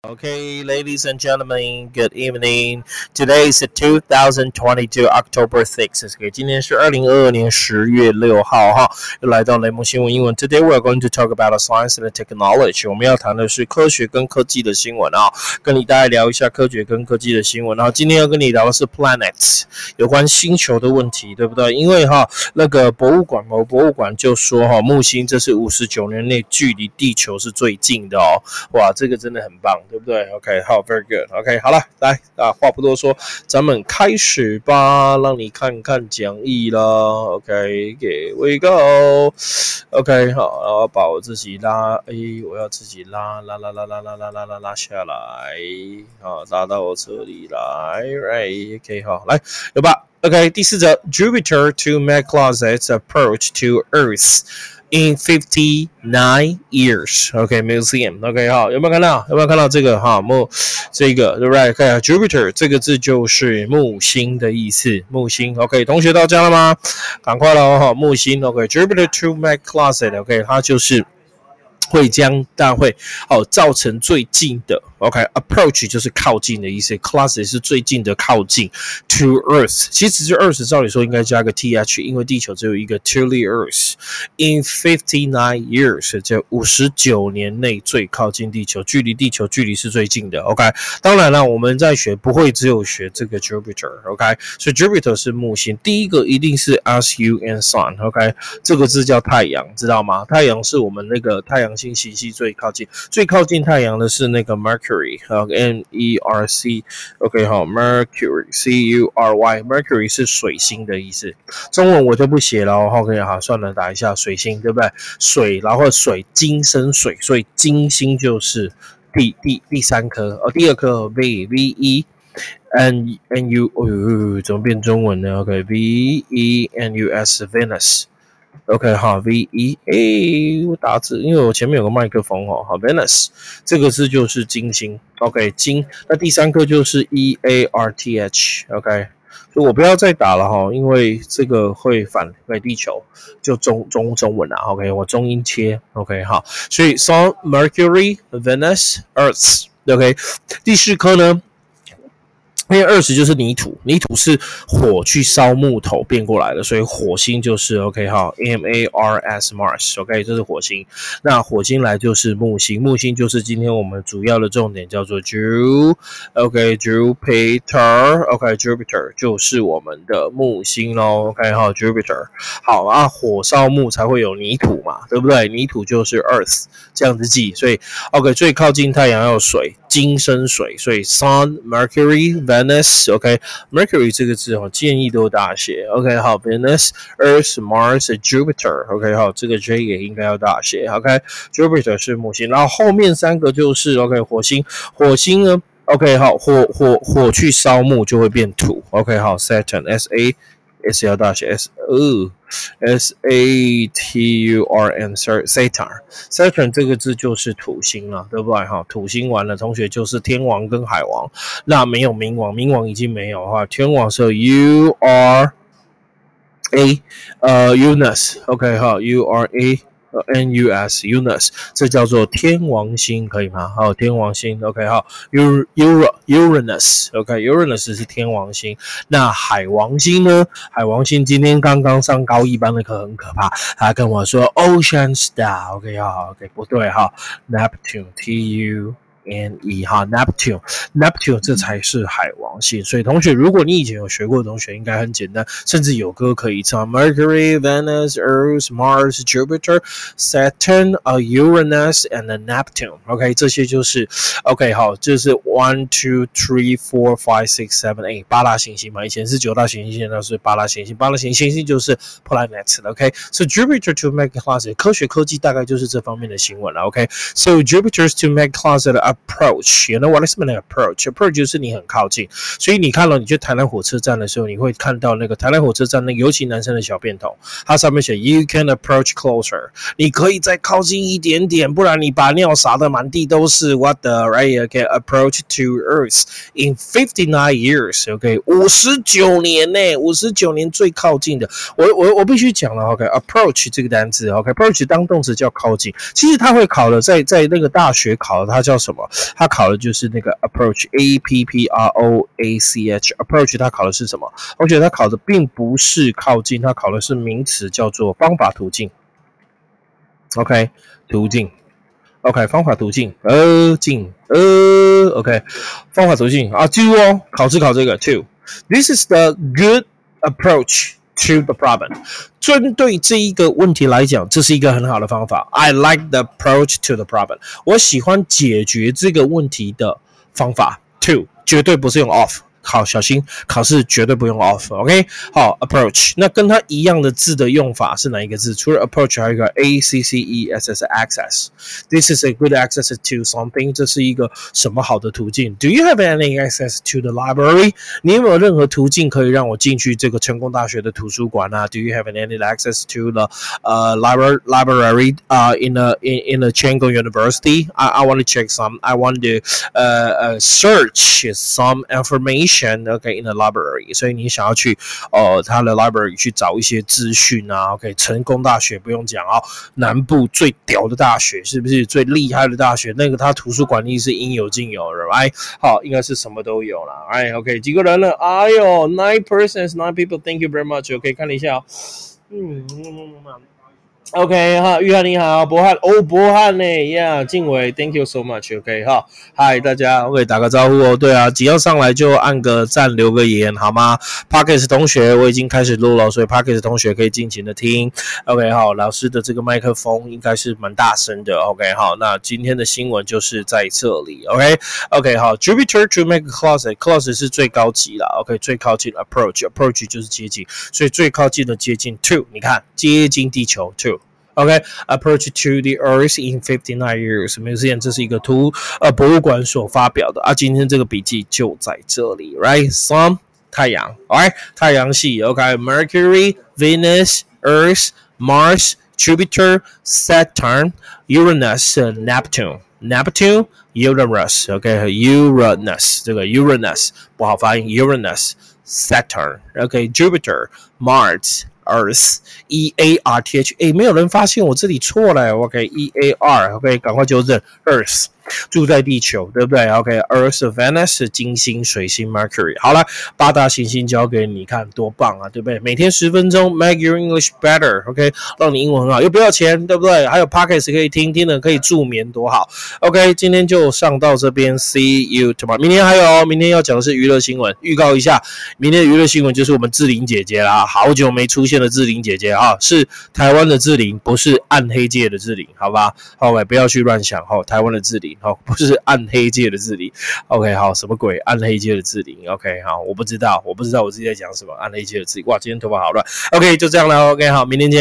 Okay, ladies and gentlemen, good evening. Today is 2022 October 6th. 今天是2022年10月6号哈，又来到雷蒙新闻英文。Today we are going to talk about science and technology. 我们要谈的是科学跟科技的新闻啊，跟你大概聊一下科学跟科技的新闻。然后今天要跟你聊的是 planets， 有关星球的问题，对不对？因为那个博物馆就说木星这是59年内距离地球是最近的哦。哇，这个真的很棒，对不对 ？OK， 好 ，very good。OK， 好了，来话不多说，咱们开始吧，让你看看讲义啦。OK，here we go。OK， 好，然后把我自己我要自己拉下来，好，拉到我这里来 ，right？OK， 好，来，有吧 ？OK， 第4则 ，Jupiter to make closets approach to Earth。In 59 years, OK, museum, OK 好，有没有看到这个这个对不对？看 Jupiter 这个字就是木星的意思，木星 OK， 同学到家了吗？赶快咯木星 OK, Jupiter to make closet OK， 它就是会将大会造成最近的 OK approach 就是靠近的意思 closet 是最近的靠近 to Earth 其实是 Earth 照理说应该加个 th 因为地球只有一个 to the Earth in 59 years 这59年内最靠近地球距离地球距离是最近的 OK 当然了我们在学不会只有学这个 Jupiter OK 所以 Jupiter 是木星第一个一定是 SU and Sun OK 这个字叫太阳知道吗太阳是我们那个太阳星系最靠近太阳的是那个 Mercury M-E-R-C OK 好 Mercury C-U-R-Y Mercury 是水星的意思中文我就不写了OK 好算了打一下水星对不对水然后水金生水所以金星就是第三颗第二颗 V-E N-U 怎么变中文呢 OK V-E-N-U-S Venus OK 好 V-E 我打字因为我前面有个麦克风好 Venus 这个字就是金星 OK 金那第三颗就是 E-A-R-T-H OK 所以我不要再打了因为这个会反给地球就中文啦 OK 我中英切 OK 好所以 Sun Mercury Venus Earth OK 第4颗呢因为20就是泥土是火去烧木头变过来的所以火星就是 OK 好 M-A-R-S Mars OK 这是火星那火星来就是木星就是今天我们主要的重点叫做 Jupiter OK Jupiter 就是我们的木星咯 OK 好 Jupiter 好火烧木才会有泥土嘛对不对泥土就是 Earth 这样子记所以 OK 最靠近太阳要水金生水所以 Sun Mercury Venus OK Mercury 这个字建议都大写 OK 好 Venus Earth Mars Jupiter OK 好这个 J 也应该要大写 OK Jupiter 是木星然后后面3个就是 OK 火星呢 OK 好火去烧木就会变土 OK 好 Saturn S 要大写 S-A-T-U-R-N Saturn 这个字就是土星了对不对土星完了同学就是天王跟海王那没有冥王已经没有天王是 U-R-A Uranus OK 好 U-R-A N-U-S Uranus 这叫做天王星可以吗好天王星 OK 好 Uranus OK Uranus 是天王星那海王星呢海王星今天刚刚上高一班的课很可怕他跟我说 Ocean Star OK 好 OK 不对Neptune T-U N-E Neptune 这才是海王星所以同学如果你以前有学过的同学应该很简单甚至有歌可以唱 Mercury, Venus, Earth, Mars, Jupiter, Saturn, Uranus and Neptune OK 这些就是 OK 好这是1, 2, 3, 4, 5, 6, 7, 8 8大行星嘛以前是9大行星现在是8大行星8大行星就是 planets OK So Jupiter to make closet 科学科技大概就是这方面的新闻了 OK So Jupiter to make closet approach you know what is mean approach 就是你很靠近所以你看了你去台南火车站的时候你会看到那个台南火车站那个尤其男生的小便桶它上面写 you can approach closer 你可以再靠近一点点不然你把尿洒得满地都是 what the right okay approach to Earth in 59 years OK 59年呢59年最靠近的我必须讲了 OK approach 这个单字 OK approach 当动词叫靠近其实它会考的在那个大学考的它叫什么么？它考的就是那个 approach approach approach 它考的是什么？而且它考的并不是靠近，它考的是名词叫做方法途径。OK， 途径。OK， 方法途径，OK， 方法途径啊 ，to 哦，考试考这个 to。This is the good approach to the problem。针对这一个问题来讲，这是一个很好的方法。I like the approach to the problem。我喜欢解决这个问题的方法 to， 绝对不是用 of。好，小心考试绝对不用 off，OK？ 好 ，approach， 那跟它一样的字的用法是哪一个字？除了 approach， 还有一个 access access。This is a good access to something， 这是一个什么好的途径 ？Do you have any access to the library？ 你有没有任何途径可以让我进去这个成功大学的图书馆啊 ？Do you have any access to the library in a Chengkong University？ I want to check some. I want to search some information.OK in the library， 所以你想要去他的 library 去找一些资讯啊 ，OK， 成功大学不用讲哦，南部最屌的大学是不是最厉害的大学？那个他图书馆里是应有尽有的 ，right？ 好，应该是什么都有啦 ，right？ OK， 几个人了？哎呦 ，9 persons, 9 people，Thank you very much。OK， 看了一下哦，OK 哈，玉翰你好，博翰哦，博翰呢呀，静伟 ，Thank you so much，OK 哈，嗨大家 ，OK 打个招呼哦，对啊，只要上来就按个赞，留个言好吗 ？Podcast 同学我已经开始录了，所以 Podcast 同学可以尽情的听 ，OK 好，老师的这个麦克风应该是蛮大声的 ，OK 好，那今天的新闻就是在这里 ，OK 好 ，Jupiter to make a closet 是最高级啦 ，OK 最靠近 approach 就是接近，所以最靠近的接近 to， 你看接近地球 to。OK, approach to the Earth in 59 years. Museum 这是一个博物馆所发表的啊。今天这个笔记就在这里 ，right? Sun 太阳 ，alright 太阳系 ，OK Mercury, Venus, Earth, Mars, Jupiter, Saturn, Uranus, Neptune, Uranus, OK Uranus 这个 Uranus 不好发音 Uranus, Saturn, OK Jupiter, Mars.Earth E-A-R-T-H 没有人发现我这里错了 OK E-A-R OK 赶快纠正 Earth 住在地球对不对 OK Earth Venus 金星水星 Mercury 好了8大行星交给你看多棒啊对不对每天10分钟 make your English better OK 让你英文很好又不要钱对不对还有 Podcast 可以听听了可以助眠多好 OK 今天就上到这边 See you tomorrow 明天还有明天要讲的是娱乐新闻预告一下明天的娱乐新闻就是我们志玲姐姐啦好久没出现的志玲姐姐啊是台湾的志玲不是暗黑界的志玲好吧 OK 不要去乱想台湾的志玲不是暗黑界的志玲 OK 好什么鬼暗黑界的志玲 OK 好我不知道我自己在讲什么暗黑界的志玲哇今天头发好乱 OK 就这样了 OK 好明天见